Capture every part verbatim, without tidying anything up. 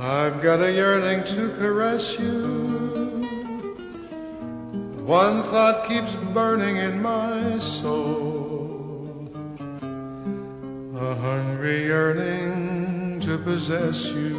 I've got a yearning to caress you. One thought keeps burning in my soul, a hungry yearning to possess you.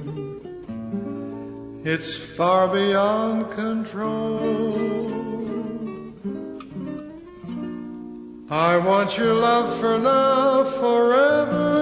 It's far beyond control. I want your love for now, forever.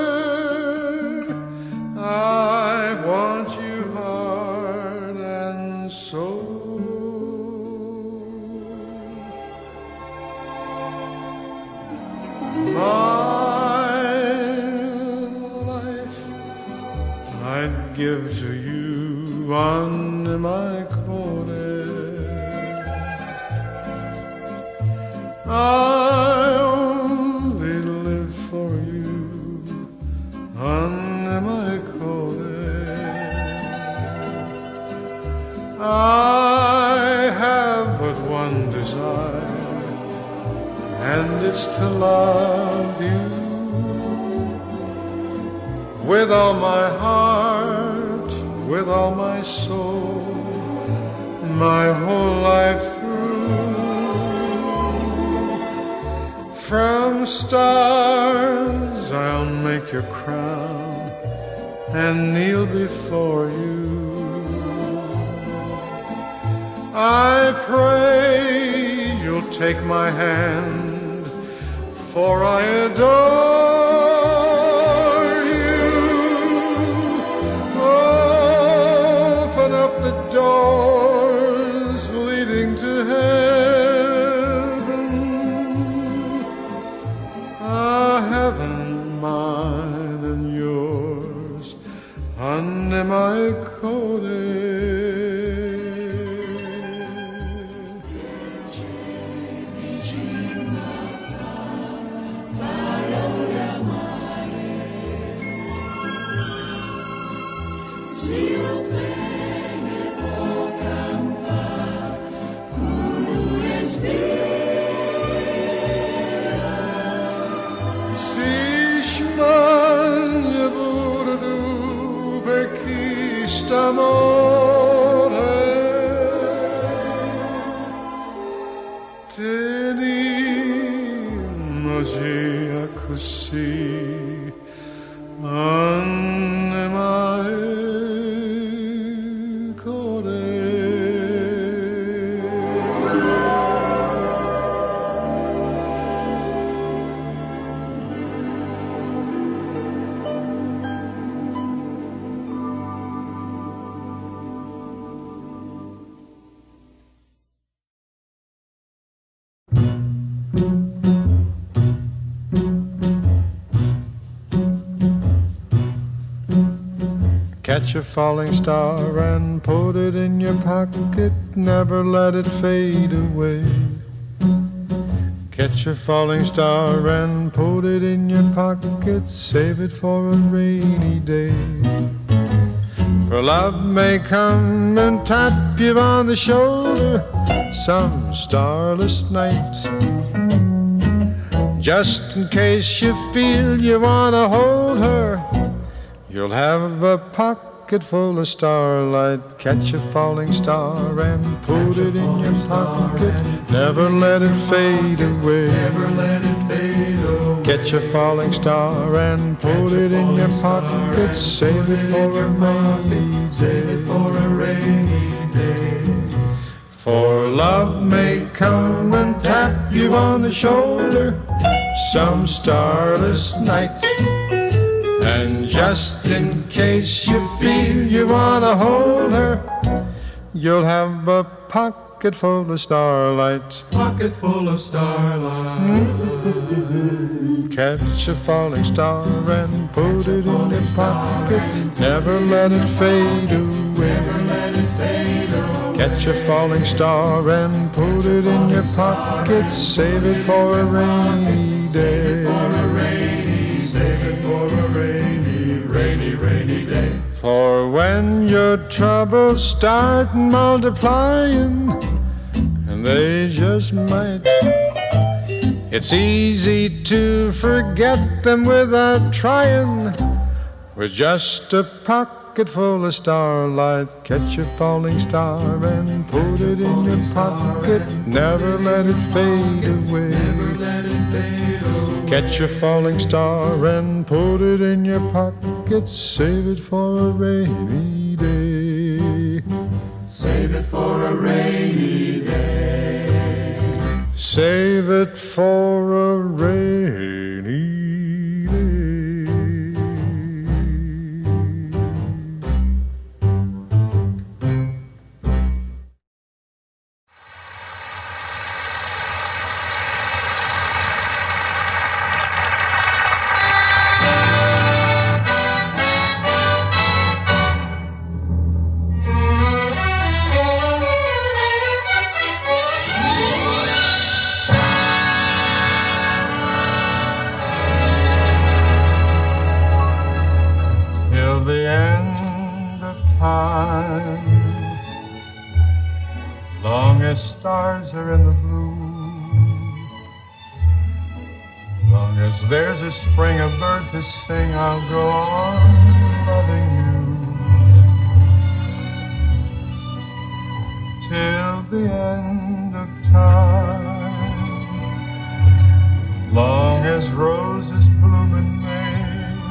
I want you heart and soul. My life I'd give to you on my I only live for you under my I have but one desire, and it's to love you with all my heart, with all my soul, my whole life through. From stars I'll make your crown and kneel before you. I pray you'll take my hand, for I adore you. Open up the doors leading to heaven, a heaven mine and yours under my coat. Amore, tenimoci così anima e core. Catch a falling star and put it in your pocket, never let it fade away. Catch a falling star and put it in your pocket, save it for a rainy day. For love may come and tap you on the shoulder some starless night, just in case you feel you want to hold her. You'll have a pocket full of starlight. Catch a falling star and put it in your pocket, never let it fade away. Never let it fade away. Catch a falling star and put it in your pocket, save it for a rainy day. Save it for a rainy day. For love may come and tap you on the shoulder some starless night, and just in case you feel you want to hold her, you'll have a pocket full of starlight. Pocket full of starlight. Mm-hmm. Catch a falling star and put it in your pocket, never let it fade away. Never let it fade away. Catch a falling star and put it in your pocket, save it for a rainy day. Save it for a rainy, rainy, rainy day. For when your troubles start multiplying, and they just might, it's easy to forget them without trying, with just a pocket pocket full of starlight. Catch a falling star and put it in your pocket. Never let it fade away. Catch a falling star and put it in your pocket. Save it for a rainy day. Save it for a rainy day. Save it for a rainy day. Stars are in the blue. Long as there's a spring, a bird to sing, I'll go on loving you till the end of time. Long as roses bloom in May,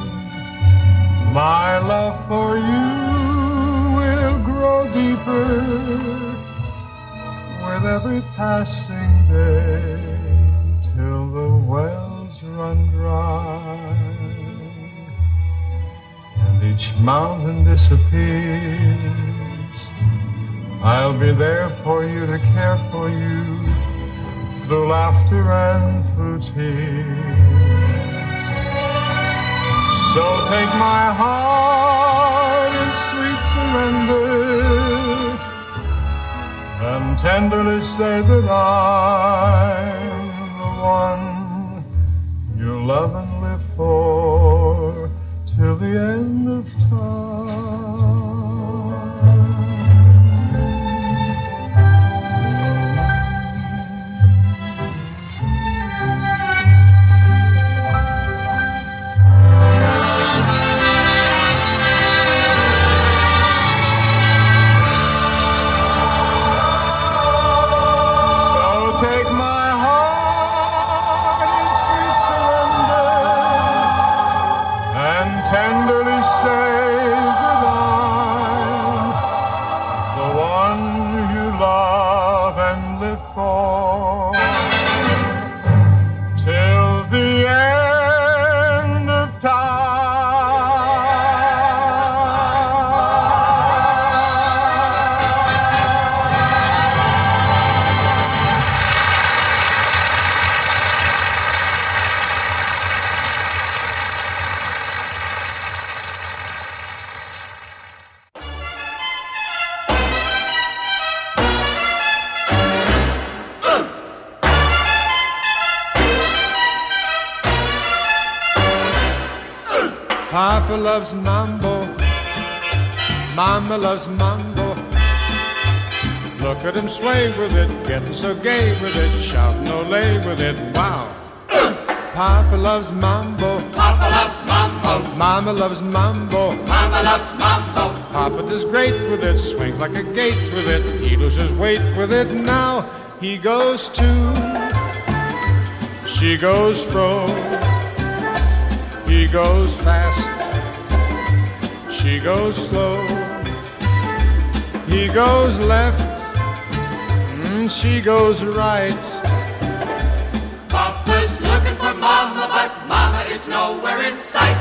my love for you will grow deeper with every passing day, till the wells run dry and each mountain disappears. I'll be there for you to care for you through laughter and through tears. So take my heart in sweet surrender and tenderly say that I'm the one you love and live for till the end of time. Papa loves mambo, Mama loves mambo. Look at him sway with it, getting so gay with it, shouting Olé with it, wow. Papa loves mambo, Papa loves mambo, Mama loves mambo, Mama loves mambo. Papa does great with it, swings like a gate with it, he loses weight with it. Now he goes to, she goes fro, he goes fast, she goes slow, he goes left, mm, she goes right. Papa's looking for Mama, but Mama is nowhere in sight.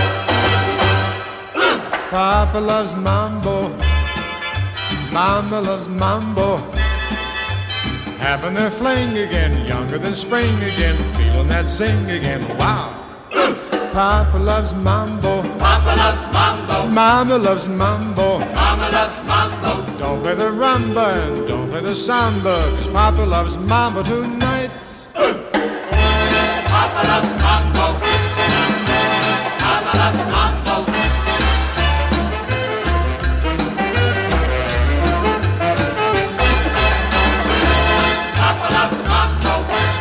Papa loves mambo, Mama loves mambo, having their fling again, younger than spring again, feeling that zing again, wow. Papa loves mambo, Papa loves mambo, Mama loves mambo, Mama loves mambo. don't play the rumba and don't play the samba, 'cause Papa loves mambo tonight. Papa loves mambo, Mama loves mambo. Papa loves mambo,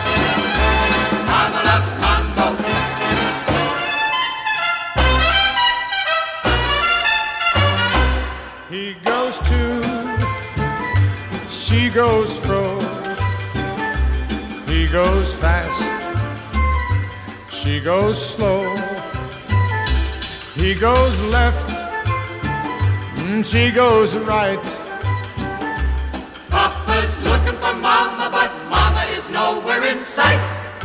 Mama loves mambo. He goes to, she goes fro. He goes fast, she goes slow. He goes left, and she goes right. Papa's looking for Mama, but Mama is nowhere in sight.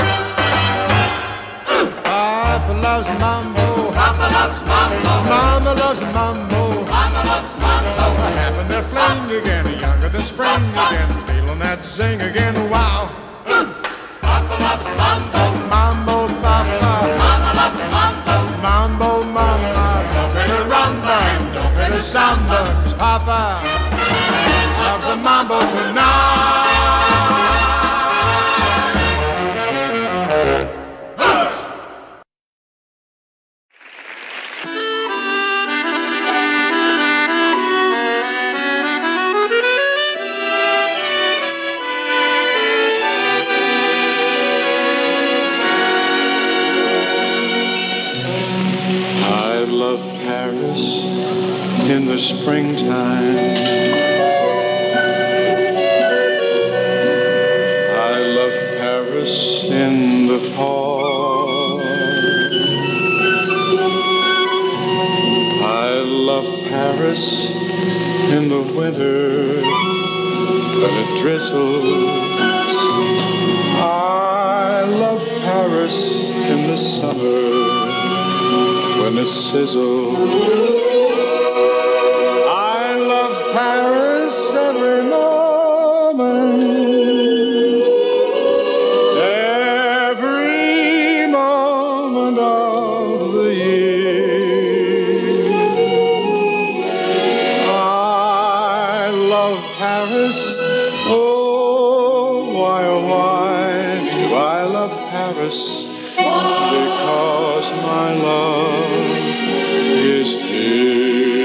Papa loves mambo. Papa loves mambo. Mama loves mambo. Mama loves mambo. Having their fling again, younger than spring again, feeling that zing again. Wow. Papa loves mambo. Mambo, Papa. Mama loves mambo. Mambo, Mama. Don't play the rumba and don't play the samba. 'Cause Papa loves the mambo tonight. In the springtime, I love Paris in the fall. I love Paris in the winter when it drizzles. I love Paris in the summer when it sizzles. Paris every moment, every moment of the year. I love Paris, oh, why, oh, why do I love Paris? Because my love is here.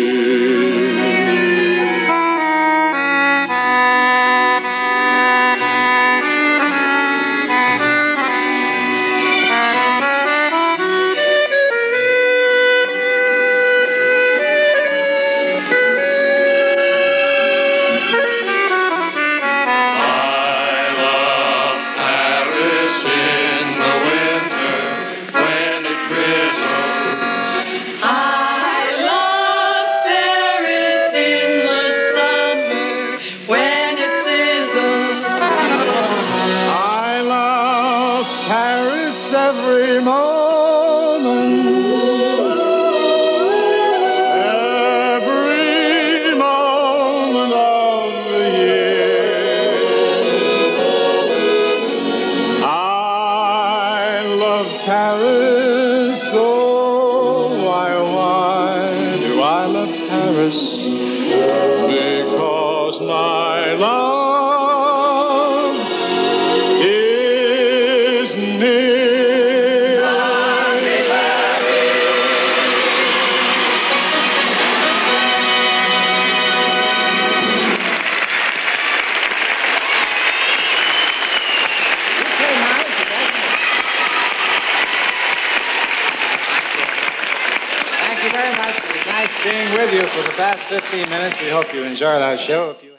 fifteen minutes. We hope you enjoyed our show. If you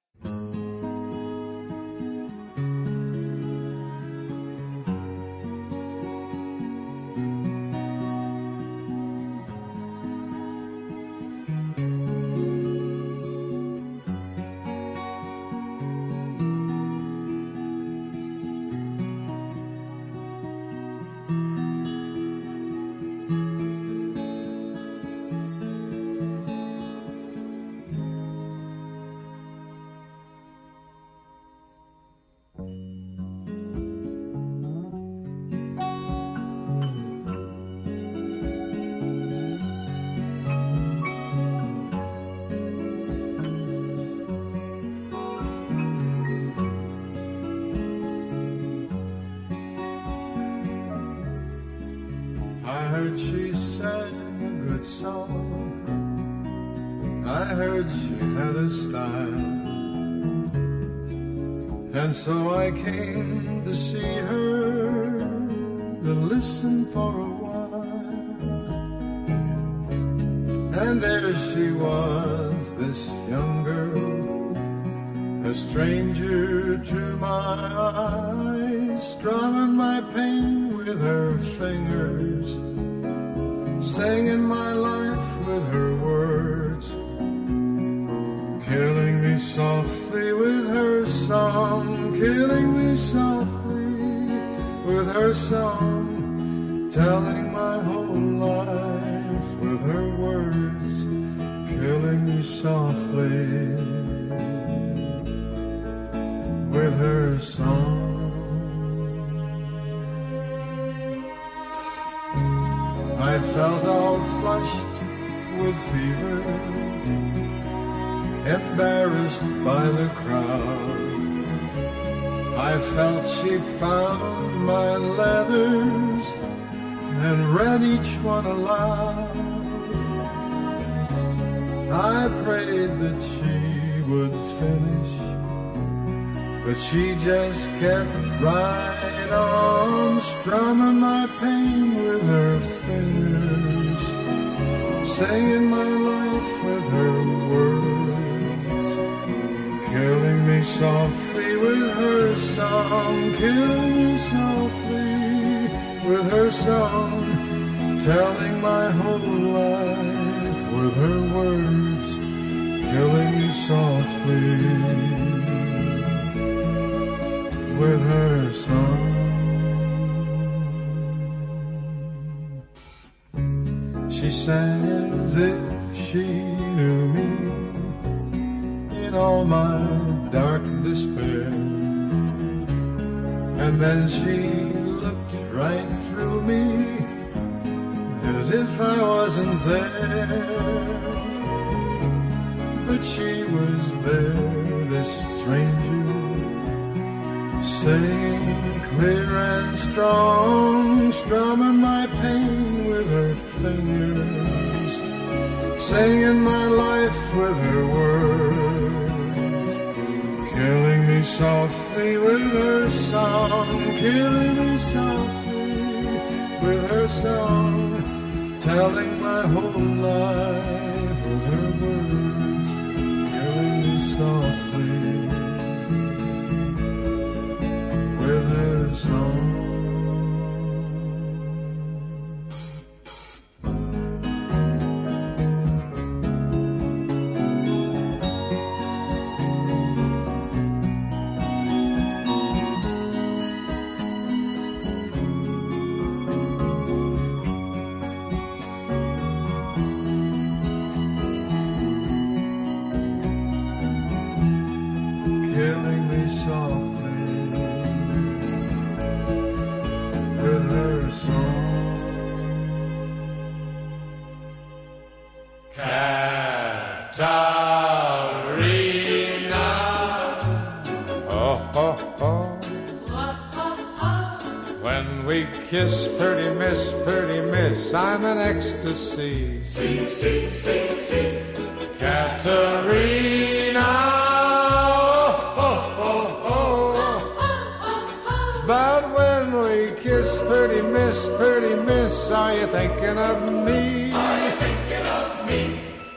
heard she sang a good song. I heard she had a style. And so I came to see her, to listen for a while. And there she was, this young girl, a stranger to my eyes, strumming my pain with her fingers, singing my life with her words, killing me softly with her song, killing me softly with her song, telling my whole life with her words, killing me softly with her song. I felt all flushed with fever, embarrassed by the crowd. I felt she found my letters and read each one aloud. I prayed that she would finish, but she just kept right on, strumming my pain with her fingers, singing my life with her words, killing me softly with her song, killing me softly with her song, telling my whole life with her words, killing me softly with her song. She sang as if she knew me in all my dark despair, and then she looked right through me as if I wasn't there. But she was there, this stranger, singing clear and strong, strumming my pain with her fingers, singing my life with her words, killing me softly with her song, killing me softly with her song, telling my whole life with her words, killing me softly with her song. Killing me softly with her song. Katarina. Oh, oh, oh. When we kiss, pretty miss, pretty miss, I'm an ecstasy. See, see, see, see. Katarina. But when we kiss, pretty miss, pretty miss, are you thinking of me? Are you thinking of me?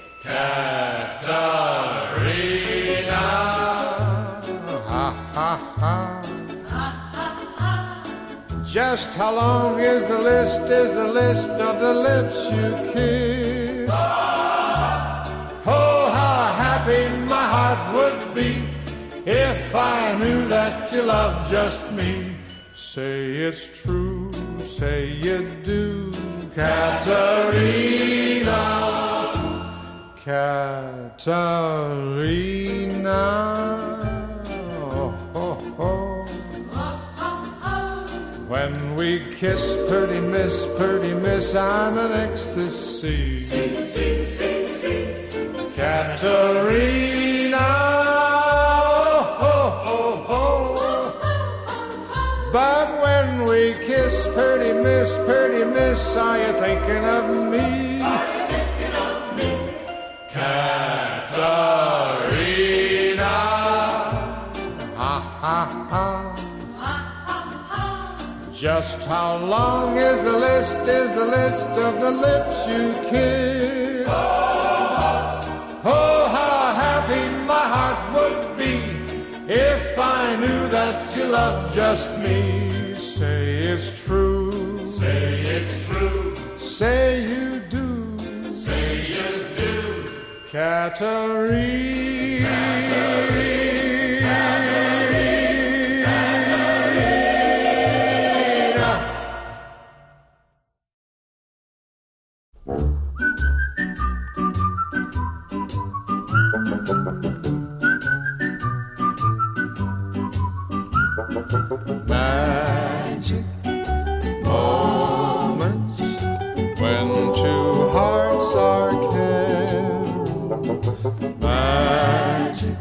Katarina. Ha, ha, ha. Just how long is the list, is the list of the lips you kiss? Oh, how happy my heart would be if I knew that you loved just me. Say it's true, say you do, Katarina, Katarina. Oh, oh, oh. When we kiss, pretty miss, pretty miss, I'm an ecstasy. See, see, see, see. Katarina. But when we kiss, pretty miss, pretty miss, are you thinking of me? Are you thinking of me? Katarina. Ha, ha, ha. Just how long is the list, is the list of the lips you kiss? Oh, how I knew that you loved just me. Say it's true. Say it's true. Say you do. Say you do. Katerina. Katerina. Magic moments when two hearts are caring. Magic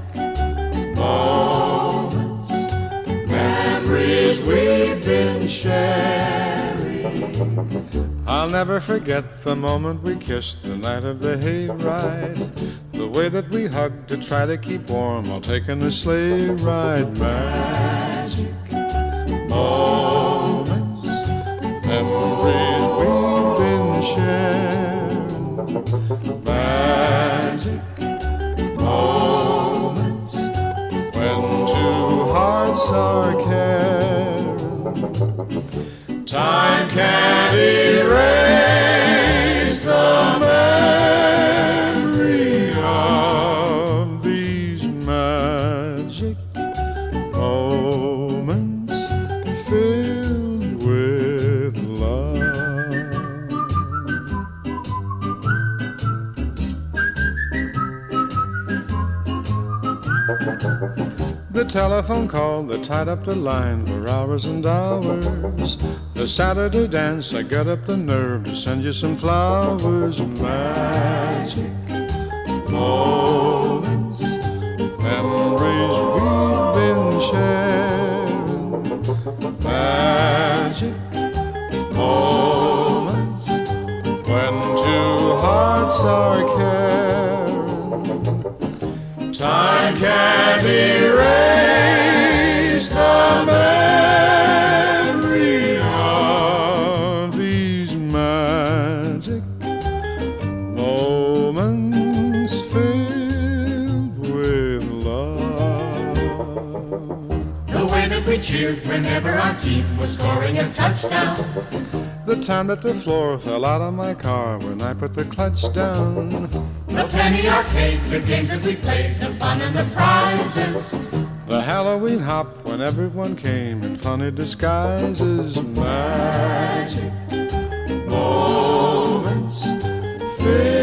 moments, memories we've been sharing. I'll never forget the moment we kissed the night of the hayride. The way that we hugged to try to keep warm while taking a sleigh ride. Magic moments, memories we've been sharing. Magic moments when two hearts are caring. Time can't erase the memory of these magic moments filled with love. The telephone call that tied up the line for hours and hours. The Saturday dance, I got up the nerve to send you some flowers. Magic moments, memories we've been sharing. Magic moments when two hearts are caring. Time can't erase the memory of these magic moments filled with love. The way that we cheered whenever our team was scoring a touchdown. The time that the floor fell out of my car when I put the clutch down. The penny arcade, the games that we played, the fun and the prizes. The Halloween hop when everyone came in funny disguises. Magic moments filled